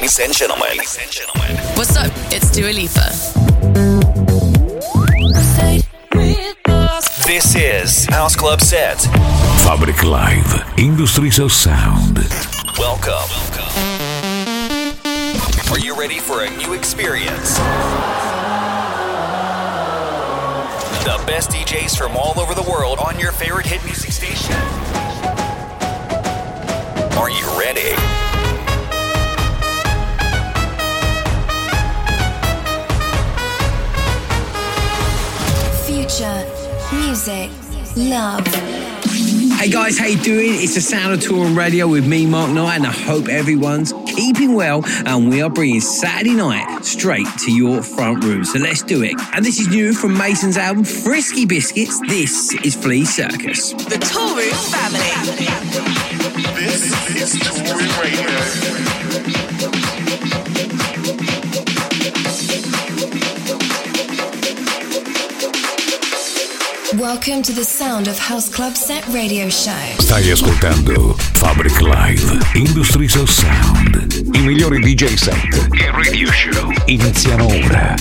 Ladies and gentlemen. What's up? It's Dua Lipa. This is House Club Set. Fabric Live, Industries of Sound. Welcome. Are you ready for a new experience? The best DJs from all over the world on your favorite hit music station. Are you ready? Future, music, love. Hey guys, how you doing? It's the Sound of Touring Radio with me, Mark Knight, and I hope everyone's keeping well, and we are bringing Saturday night straight to your front room. So let's do it. And this is new from Mason's album, Frisky Biscuits. This is Flea Circus. The Touring Family. This is Touring Radio. Welcome to the Sound of House Club Set Radio Show. Stai ascoltando Fabric Live, Industries of Sound. I migliori DJ set e radio show iniziano ora.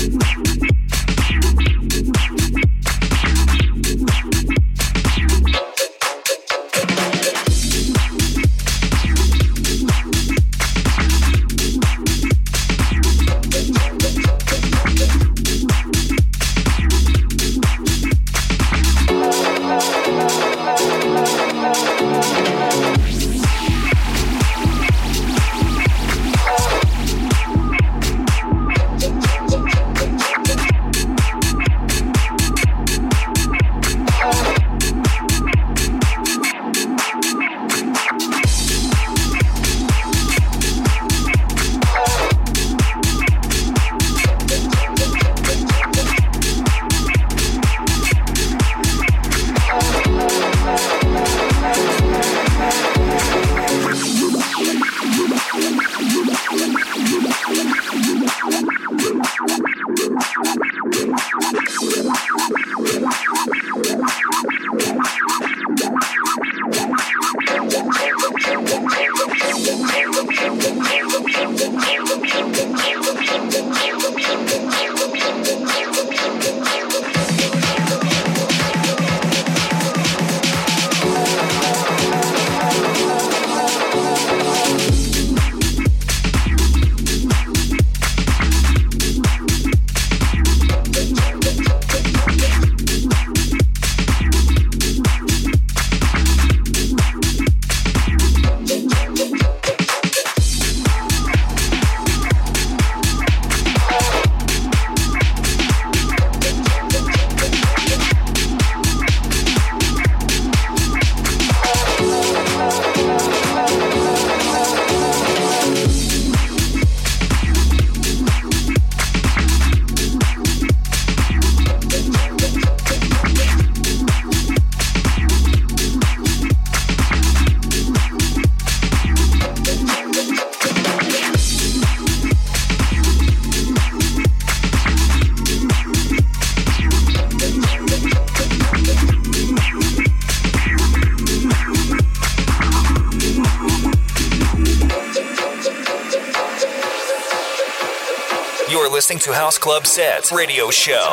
Listening to House Club Set Radio Show.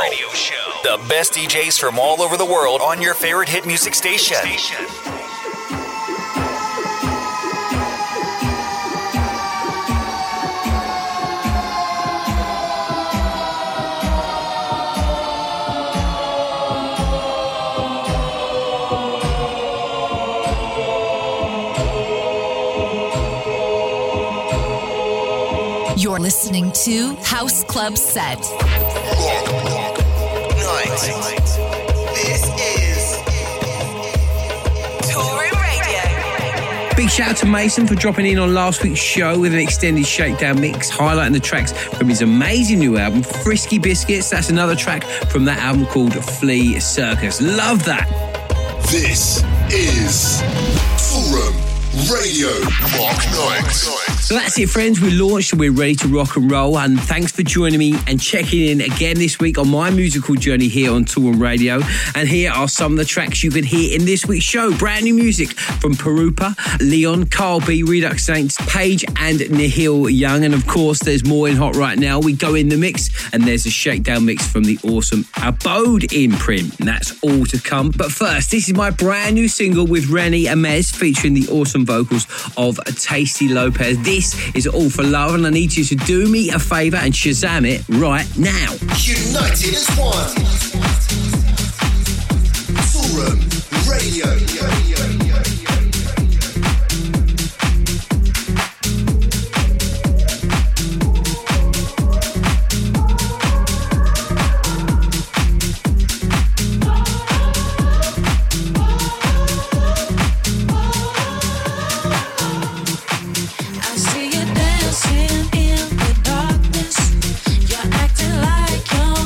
The best DJs from all over the world on your favorite hit music station. You're listening to House Club Set. This is Touring Radio. Big shout out to Mason for dropping in on last week's show with an extended shakedown mix, highlighting the tracks from his amazing new album, Frisky Biscuits. That's another track from that album called Flea Circus. Love that. This is Touring Radio Mark Knight. So that's it, friends. We're launched and we're ready to rock and roll. And thanks for joining me and checking in again this week on my musical journey here on Toolroom Radio. And here are some of the tracks you can hear in this week's show. Brand new music from Perupa, Leon, Carl B, Redux Saints, Paige and Nihil Young. And of course, there's more in hot right now. We go in the mix and there's a shakedown mix from the awesome Abode imprint. And that's all to come. But first, this is my brand new single with Rennie Amez featuring the awesome vocals of Tasty Lopez. This is All for Love, and I need you to do me a favour and Shazam it right now. United as one. Toolroom Radio.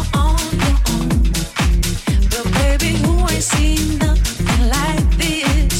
Seen nothing like this.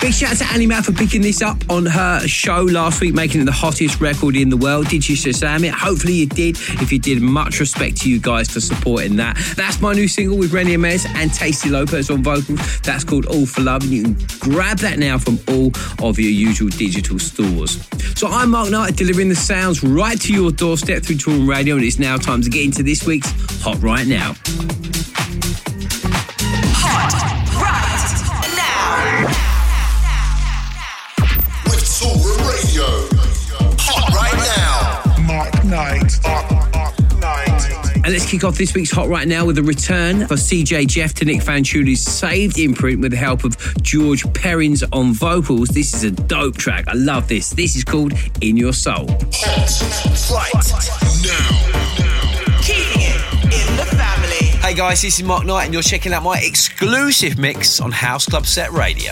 Big shout out to Annie Mac for picking this up on her show last week, making it the hottest record in the world. Did you Shazam it? Hopefully you did. If you did, much respect to you guys for supporting that. That's my new single with Rennie Amez and Tasty Lopez on vocals. That's called All for Love, and you can grab that now from all of your usual digital stores. So I'm Mark Knight, delivering the sounds right to your doorstep through Toolroom Radio, and it's now time to get into this week's Hot Right Now. Hot Right Now. With Toolroom Radio. Hot right now. Mark Knight. And let's kick off this week's Hot Right Now with a return for CJ Jeff to Nick Fanciulli's Saved imprint with the help of George Perrins on vocals. This is a dope track. I love this. This is called In Your Soul. Hot right now. Keeping it in the family. Hey guys, this is Mark Knight and you're checking out my exclusive mix on House Club Set Radio.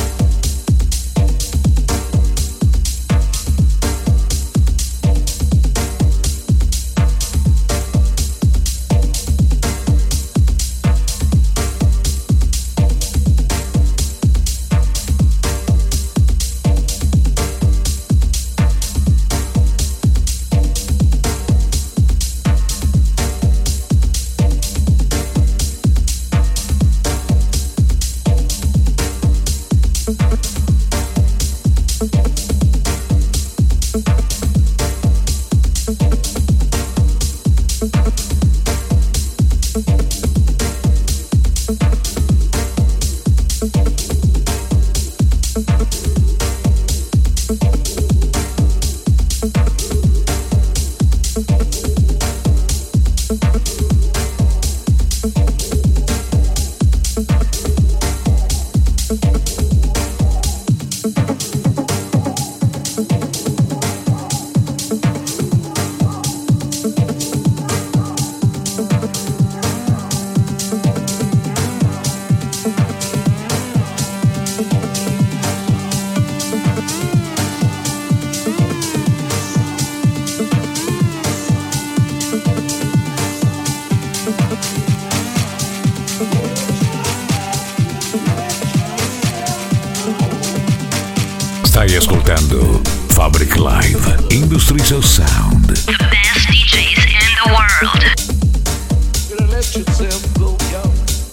Stai ascoltando Fabric Live, Industries of Sound. The best DJs in the world. Gonna let yourself go, yo.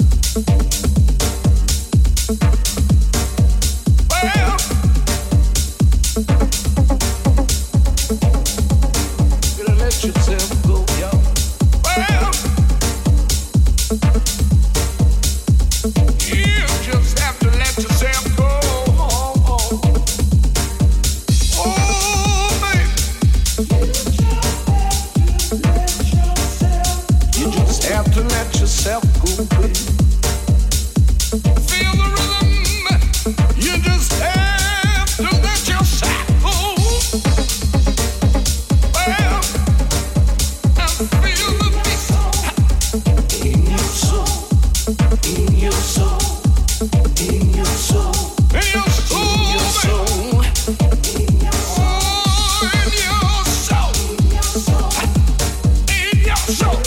Well, gonna let yourself go, yo. Well, you just have to let yourself go. Have to let yourself go, baby. Feel the rhythm. You just have to let yourself go. Well, and feel the beat in your soul, in your soul, in your soul, in your soul, in your soul, in your soul, in your soul, in your soul.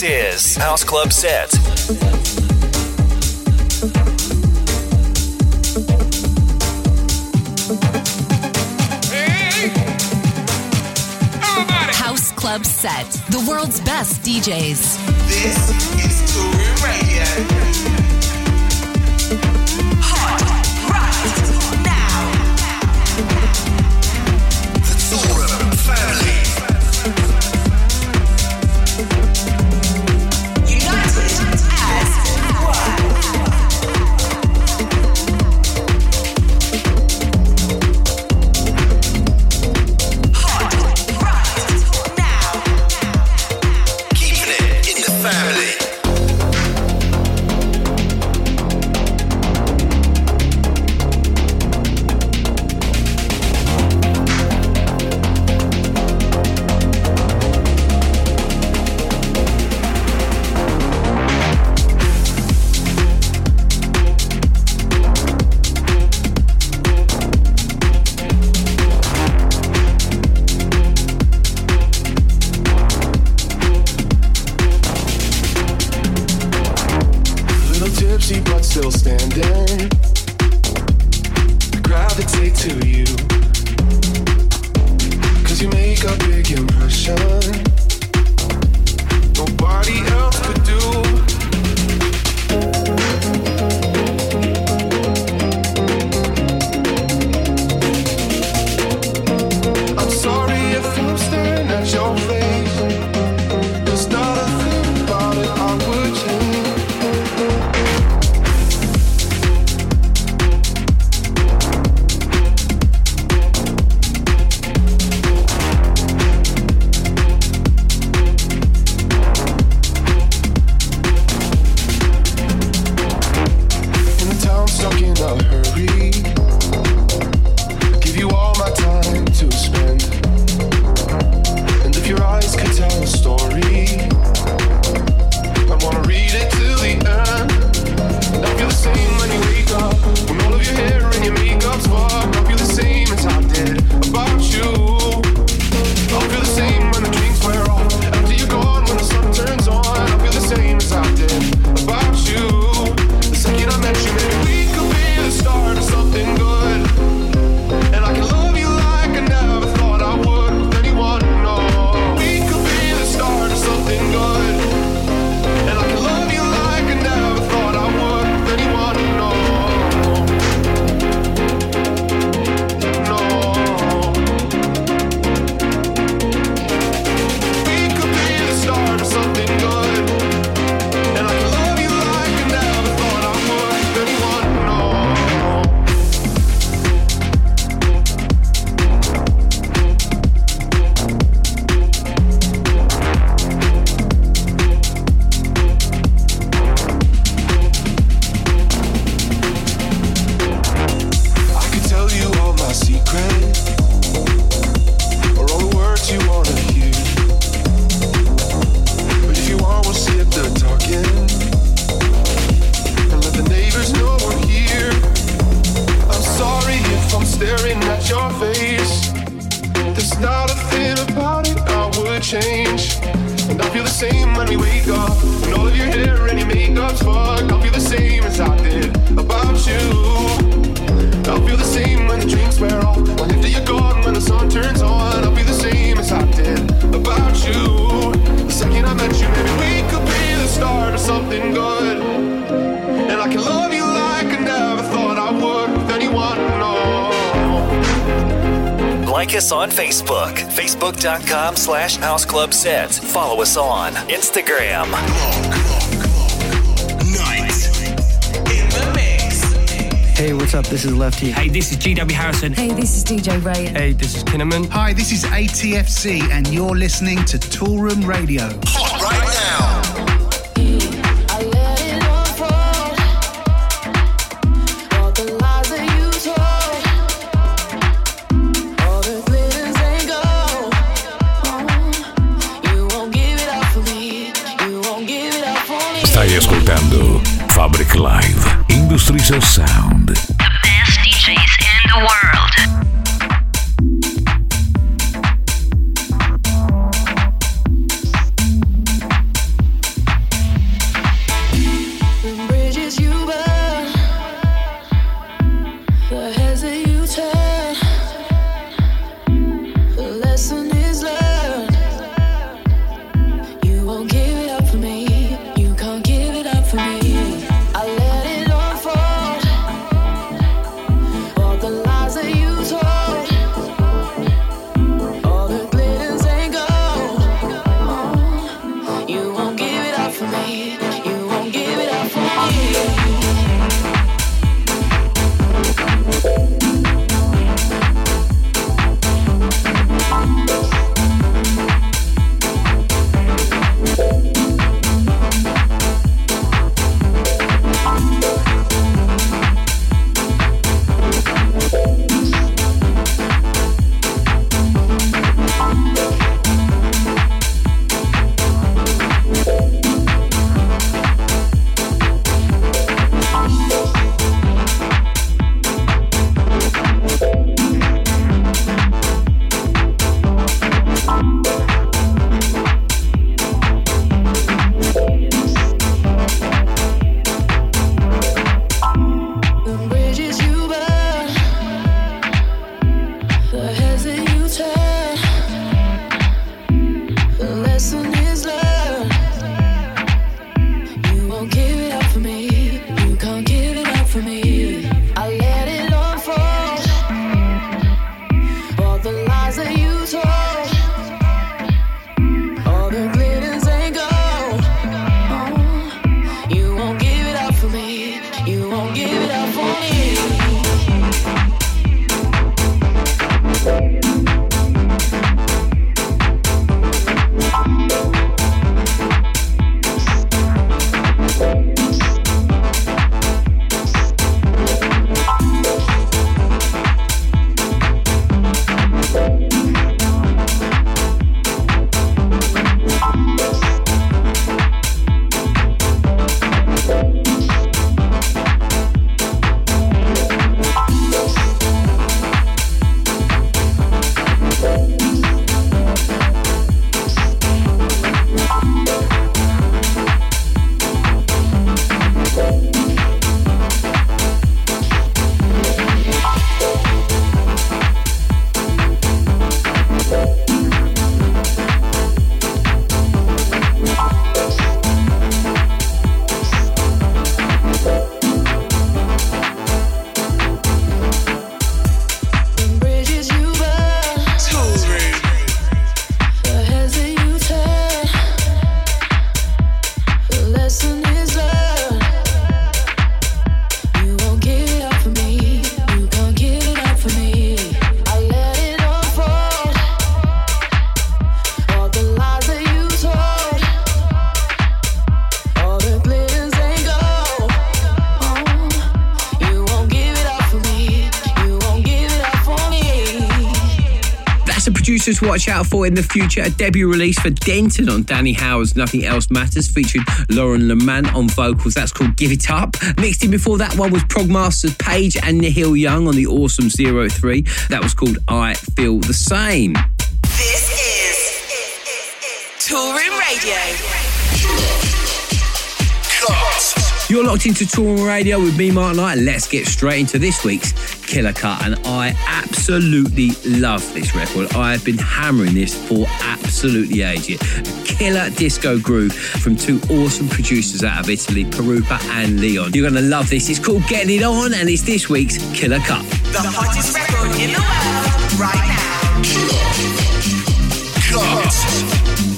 This is House Club Set. House Club Set, the world's best DJs. This is Toolroom Radio. Hot right now. The Toolroom family. United as one. Still standing, gravitate to you, 'cause you make a big impression nobody else could do. I'm sorry if I'm staring at your face. There's not a thing about it I would change. Like us on Facebook, facebook.com/houseclubset. Follow us on Instagram. Hey, what's up? This is Lefty. Hey, this is GW Harrison. Hey, this is DJ Ray. Hey, this is Kinnaman. Hi, this is ATFC, and you're listening to Toolroom Radio. Hot right now. Stai ascoltando Fabric Live, Industries of Sound. The best DJs in the world. told, all the glitters ain't gold. Oh, you won't give it up for me. You won't give it up for me. To watch out for in the future, a debut release for Denton on Danny Howard's Nothing Else Matters, featuring Lauren Lemant on vocals. That's called Give It Up. Mixed in before that one was Progmasters Page and Nihil Young on the awesome 03. That was called I Feel the Same. This is Toolroom Radio. You're locked into Toolroom Radio with me, Mark Knight. Let's get straight into this week's Killer Cut, and I absolutely love this record. I've been hammering this for absolutely ages. A killer disco groove from two awesome producers out of Italy, Perupa and Leon. You're going to love this. It's called Getting It On, and it's this week's Killer Cut. The hottest record in the world right now. Cut.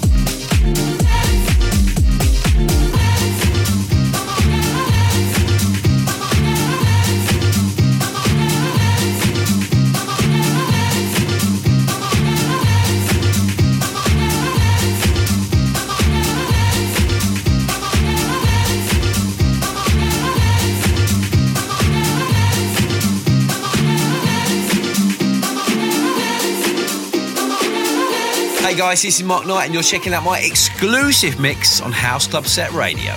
Hey guys, this is Mark Knight and you're checking out my exclusive mix on House Club Set Radio.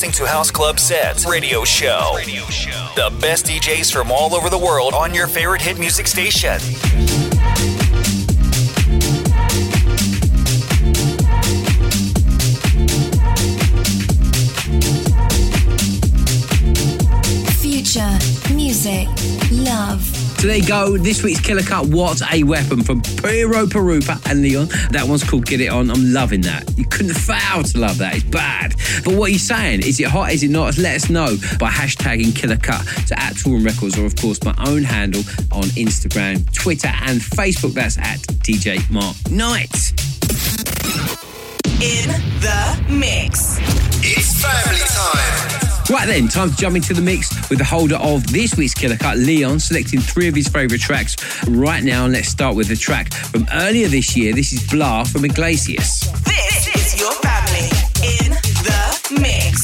listening to House Club Sets Radio Show. The best DJs from all over the world on your favorite hit music station. Future, music, love. So there you go, this week's Killer Cut, What a Weapon from Piro Pirupa and Leon. That one's called Get It On. I'm loving that. You couldn't fail to love that. It's bad. But what are you saying? Is it hot? Is it not? Let us know by hashtagging Killer Cut to @Touring Records, or of course my own handle on Instagram, Twitter and Facebook. That's @DJ Mark Knight. In the mix. It's family time. Right then, time to jump into the mix with the holder of this week's Killer Cut, Leon, selecting 3 of his favourite tracks right now. And let's start with the track from earlier this year. This is Blah from Iglesias. This is your family in the mix.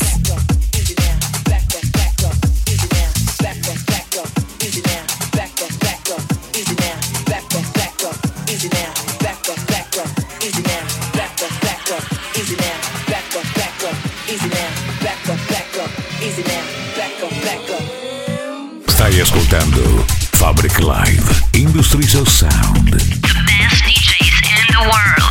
Stai ascoltando Fabric Live, Industries of Sound. The best DJs in the world.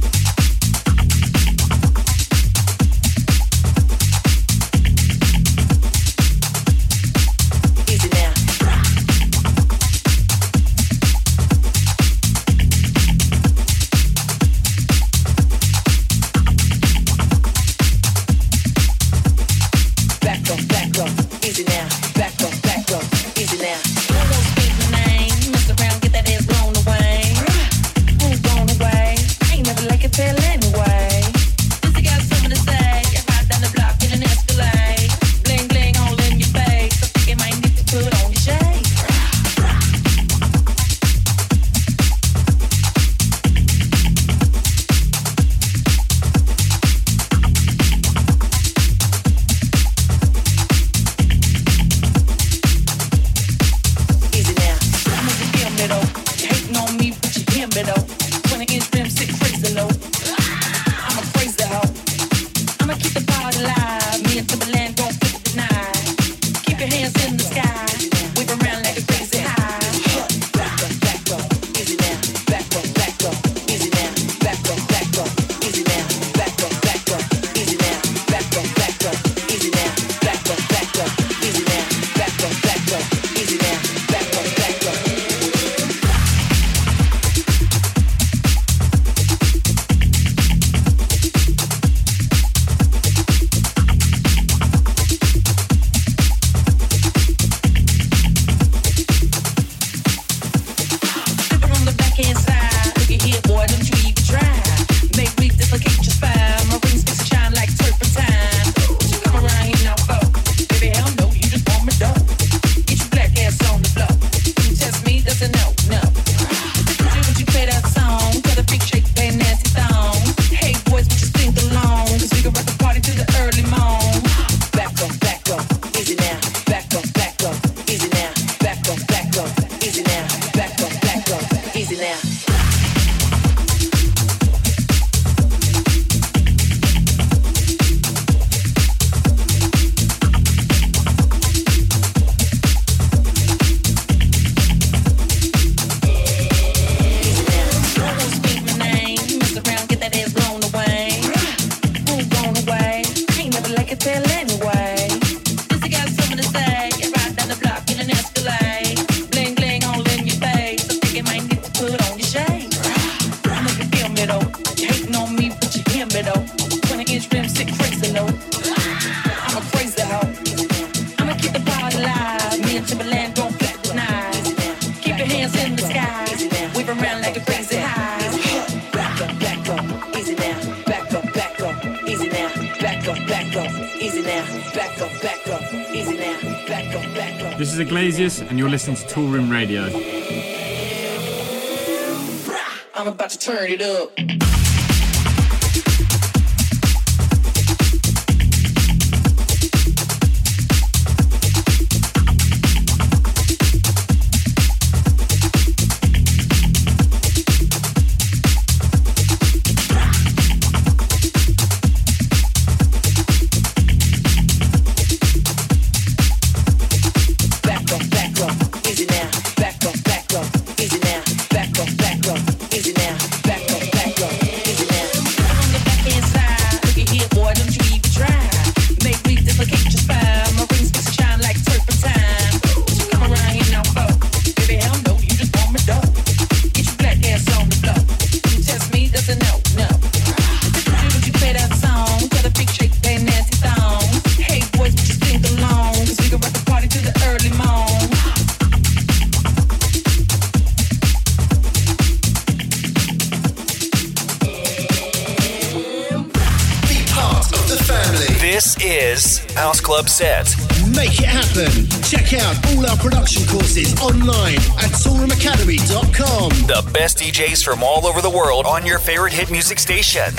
This is Iglesias, and you're listening to Touring Radio. I'm about to turn it up. House Club Set. Make it happen. Check out all our production courses online at toolroomacademy.com. The best DJs from all over the world on your favorite hit music station.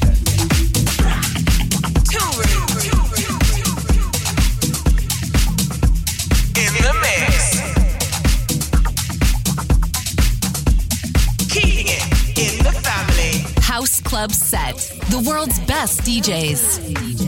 In the mix. Keeping it in the family. House Club Set. The world's best DJs.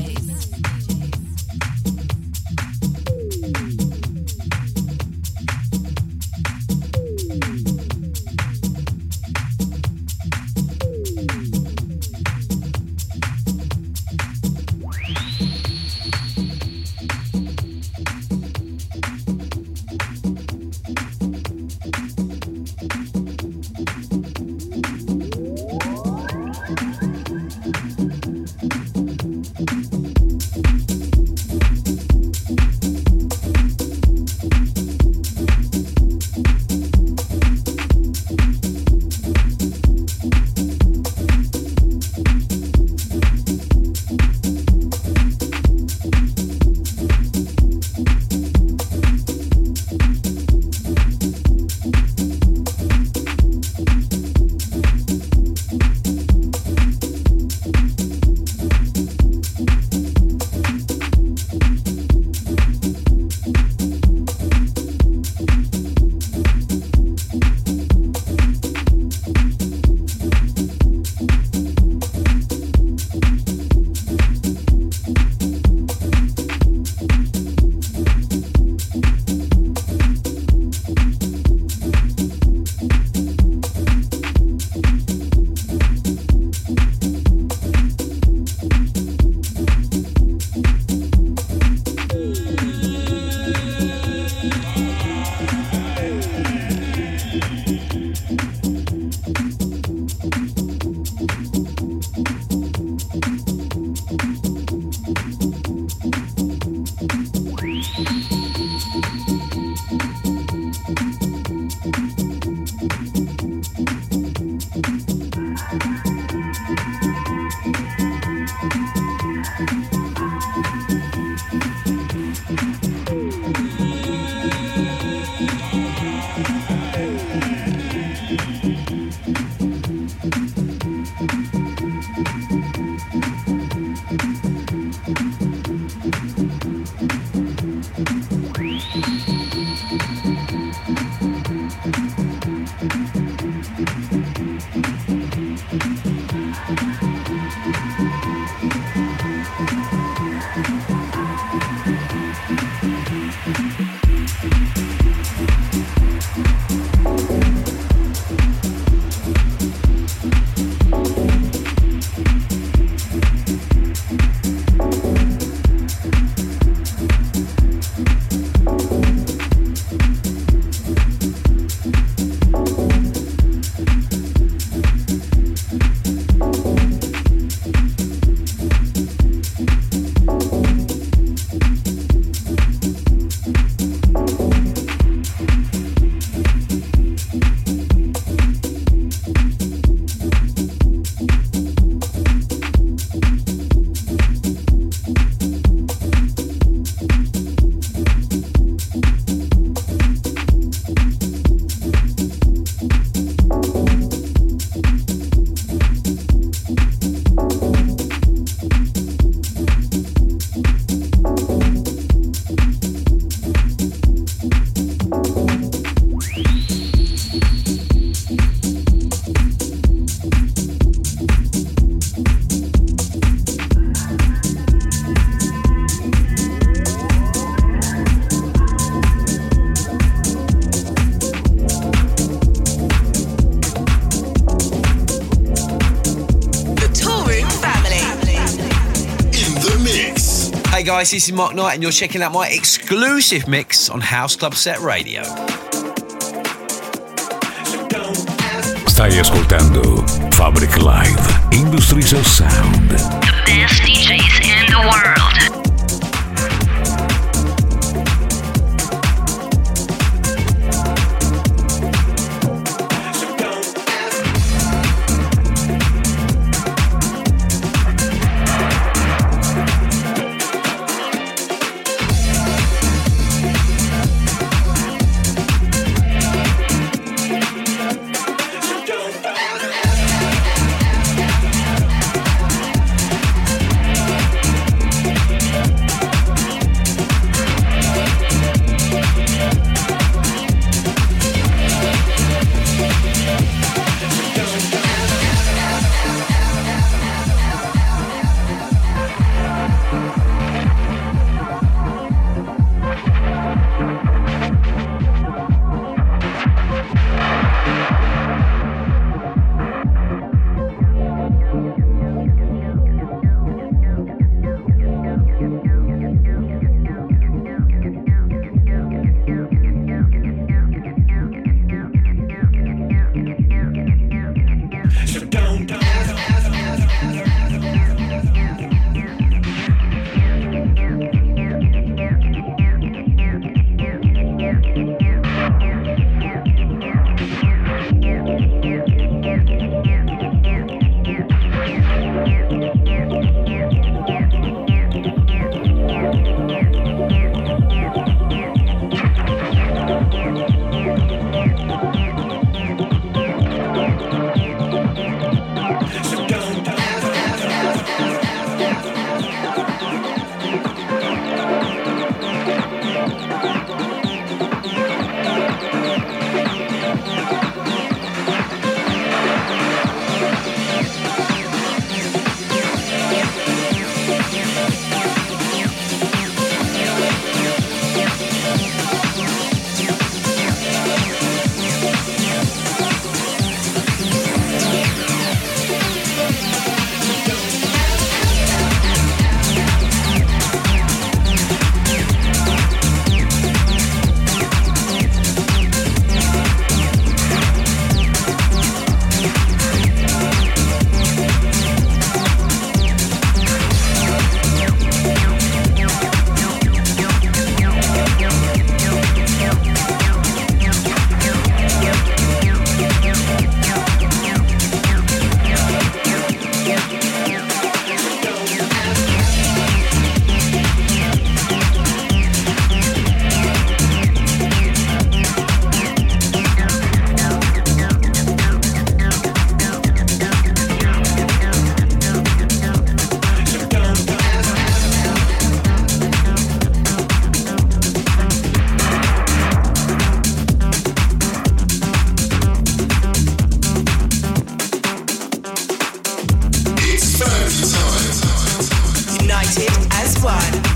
Hey guys, this is Mark Knight and you're checking out my exclusive mix on House Club Set Radio. Stai ascoltando Fabric Live, Industries of Sound. The best DJs in the world.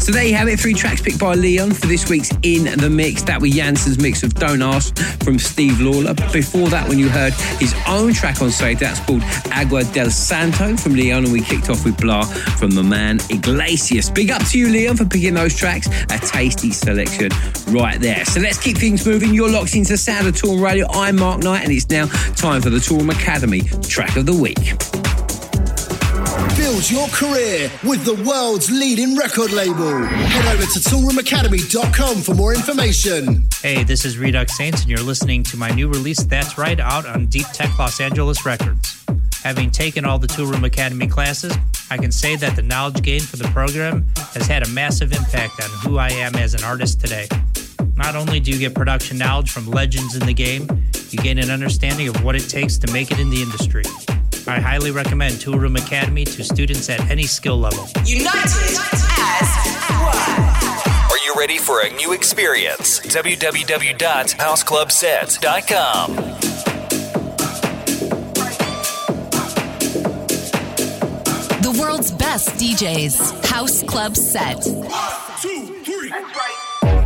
So there you have it, 3 tracks picked by Leon for this week's In The Mix. That was Janssen's mix of Don't Ask from Steve Lawler. Before that, when you heard his own track on Save, that's called Agua del Santo from Leon, and we kicked off with Blah from the man Iglesias. Big up to you, Leon, for picking those tracks. A tasty selection right there. So let's keep things moving. You're locked into the sound of Toolroom Radio. I'm Mark Knight, and it's now time for the Toolroom Academy Track of the Week. Build your career with the world's leading record label. Head over to toolroomacademy.com for more information. Hey, this is Redux Saints, and you're listening to my new release, That's Right, out on Deep Tech Los Angeles Records. Having taken all the Toolroom Academy classes, I can say that the knowledge gained for the program has had a massive impact on who I am as an artist today. Not only do you get production knowledge from legends in the game, you gain an understanding of what it takes to make it in the industry. I highly recommend Toolroom Academy to students at any skill level. United as one. Are you ready for a new experience? www.houseclubsets.com. The world's best DJs. House Club Set. 1, 2, 3. That's right.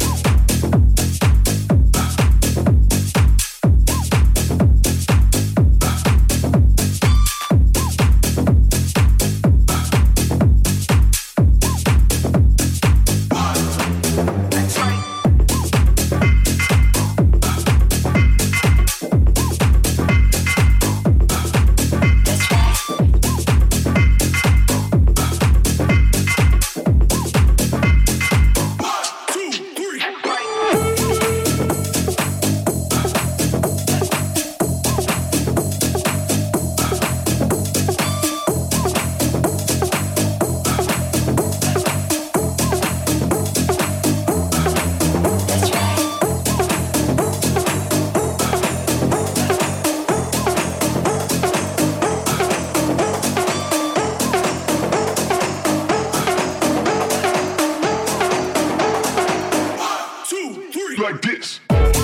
Like this.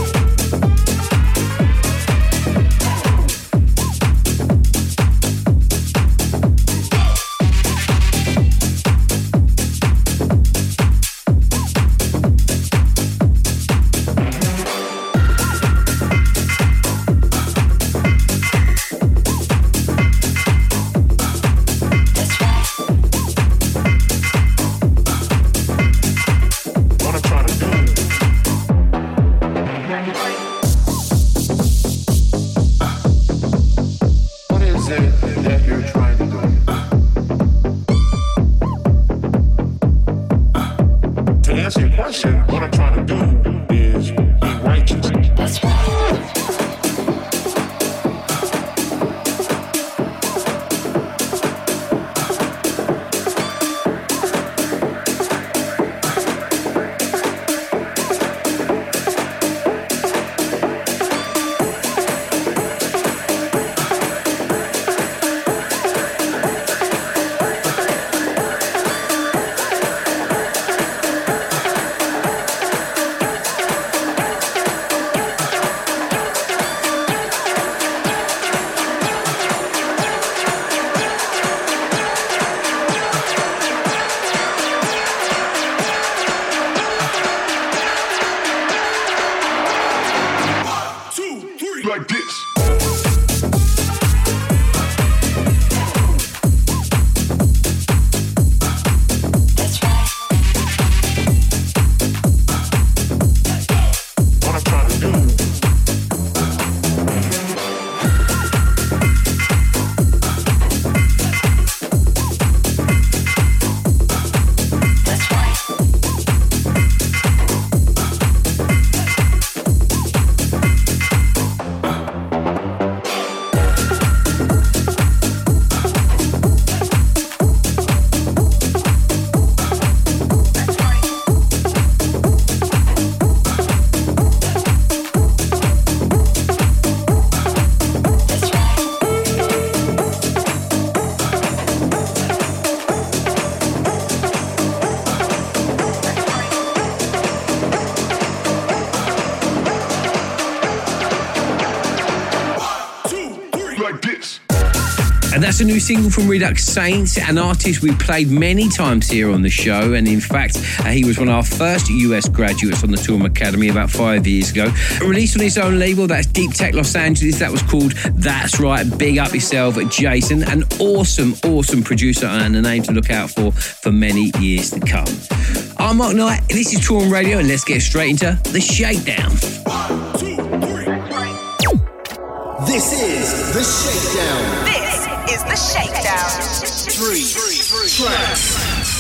Like this. That's a new single from Redux Saints, an artist we played many times here on the show. And in fact, he was one of our first US graduates on the Toolroom Academy about 5 years ago. Released on his own label, that's Deep Tech Los Angeles. That was called That's Right. Big up yourself, Jason. An awesome producer and a name to look out for many years to come. I'm Mark Knight. This is Toolroom Radio, and let's get straight into the shakedown. 1, 2, 3. This is the shakedown. This is the shakedown. 3 tracks.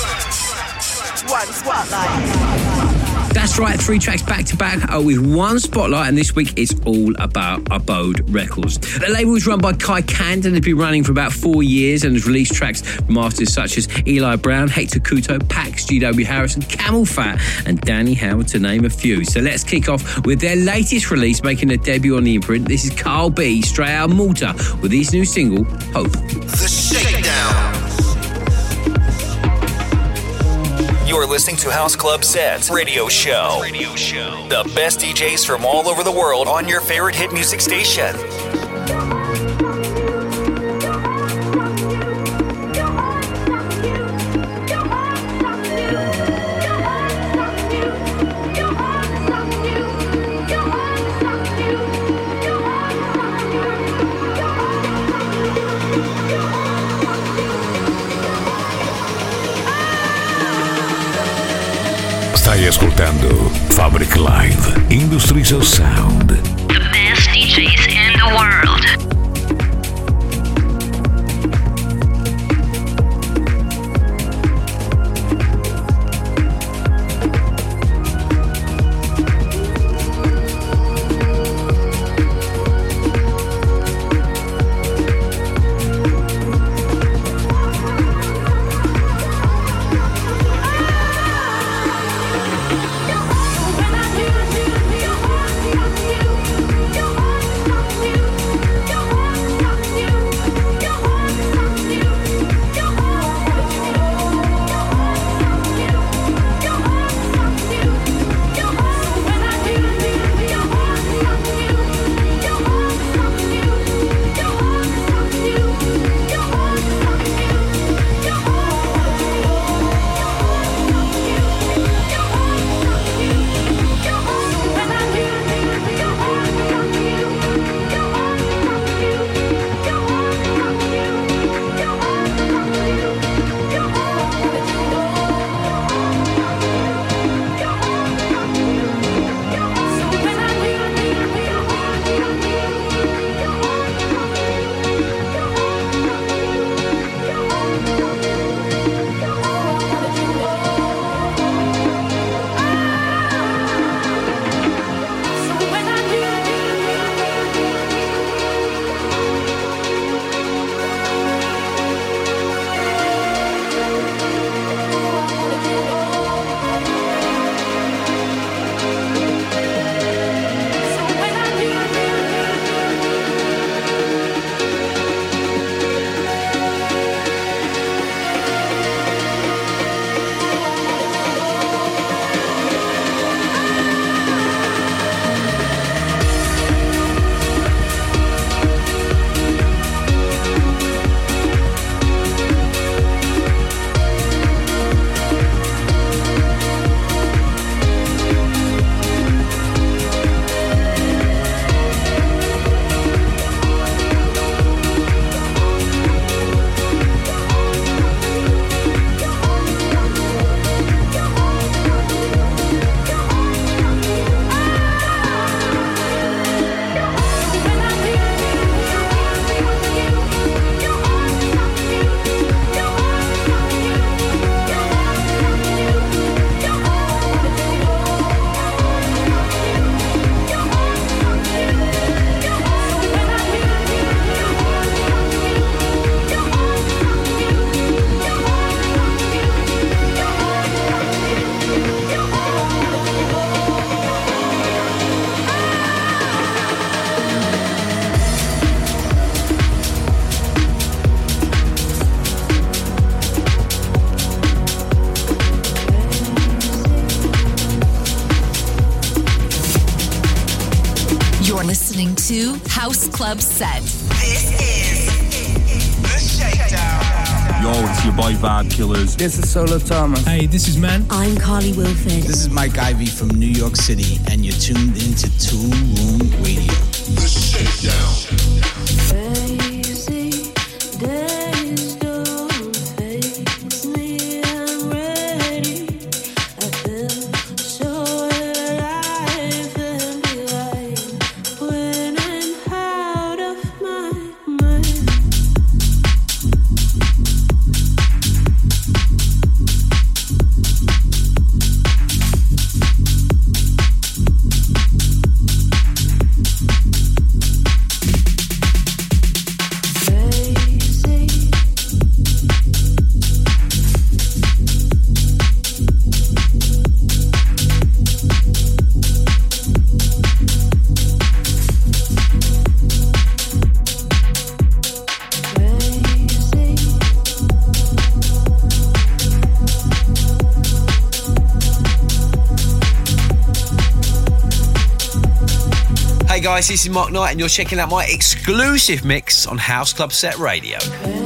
1 spotlight. That's right, 3 tracks back to back with 1 spotlight, and this week it's all about Abode Records. The label is run by Kai Kand and has been running for about 4 years and has released tracks from artists such as Eli Brown, Hector Couto, Pax, GW Harrison, Camel Fat, and Danny Howard, to name a few. So let's kick off with their latest release, making a debut on the imprint. This is Carl B, straight out of Malta, with his new single, Hope. The Shakedown. You're listening to House Club Sets Radio Show. The best DJs from all over the world on your favorite hit music station. Stai ascoltando Fabric Live, Industries of Sound. The best DJs in the world. To House Club Set. This is the Yo, it's your boy Vibe Killers. This is Solo Thomas. Hey, this is Man. I'm Carly Wilford. This is Mike Ivy from New York City, and you're tuned into Tool Room Radio. The Shakedown. Guys, this is Mark Knight and you're checking out my exclusive mix on House Club Set Radio.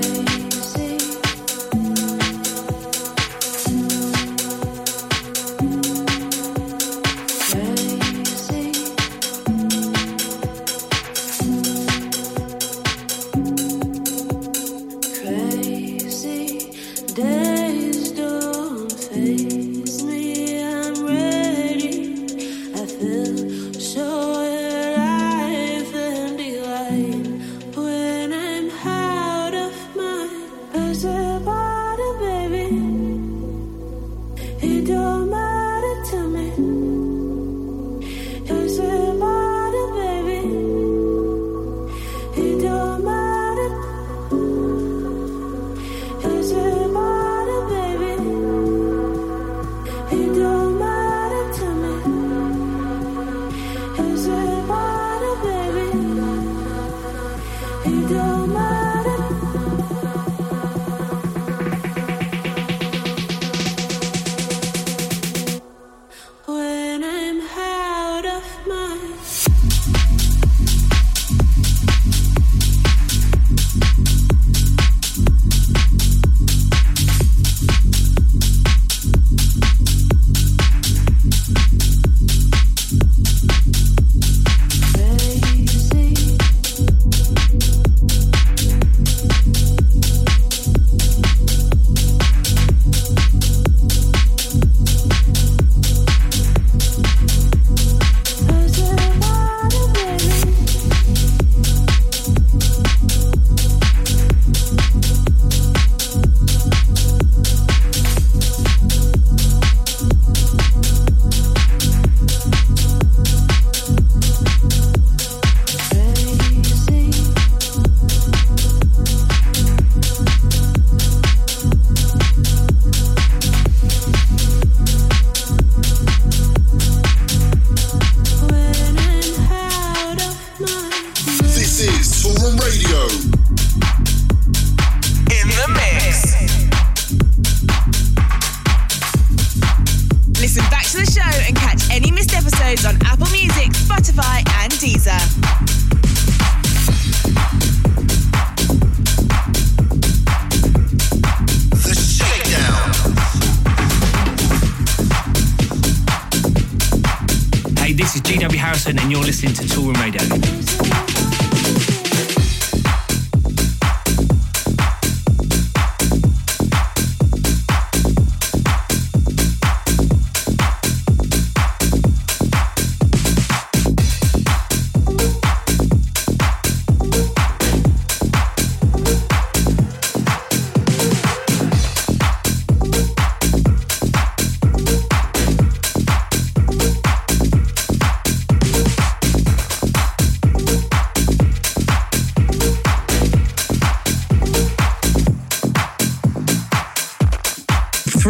And you're listening to Tool Room Radio.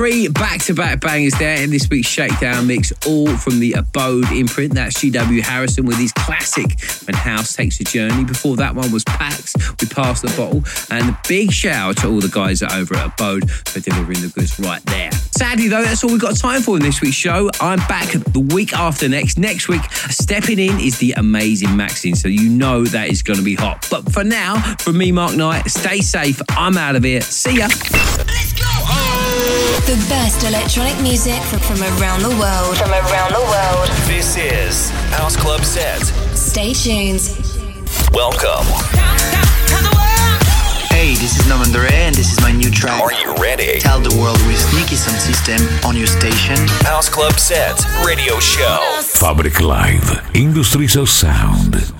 3 back-to-back bangers there in this week's Shakedown mix, all from the Abode imprint. That's GW Harrison with his classic When House Takes a Journey. Before that one was Pax with Pass the Bottle. And a big shout out to all the guys over at Abode for delivering the goods right there. Sadly though, that's all we've got time for in this week's show. I'm back the week after next. Next week, stepping in is the amazing Maxine, so you know that is going to be hot. But for now, from me, Mark Knight, stay safe. I'm out of here. See ya. Let's go! The best electronic music from around the world. From around the world. This is House Club Set. Stay tuned. Welcome. Hey, this is Norman Doray and this is my new track. Are you ready? Tell the world with Sneaky Sound System on your station. House Club Set Radio Show. Fabric Live, Industries of Sound.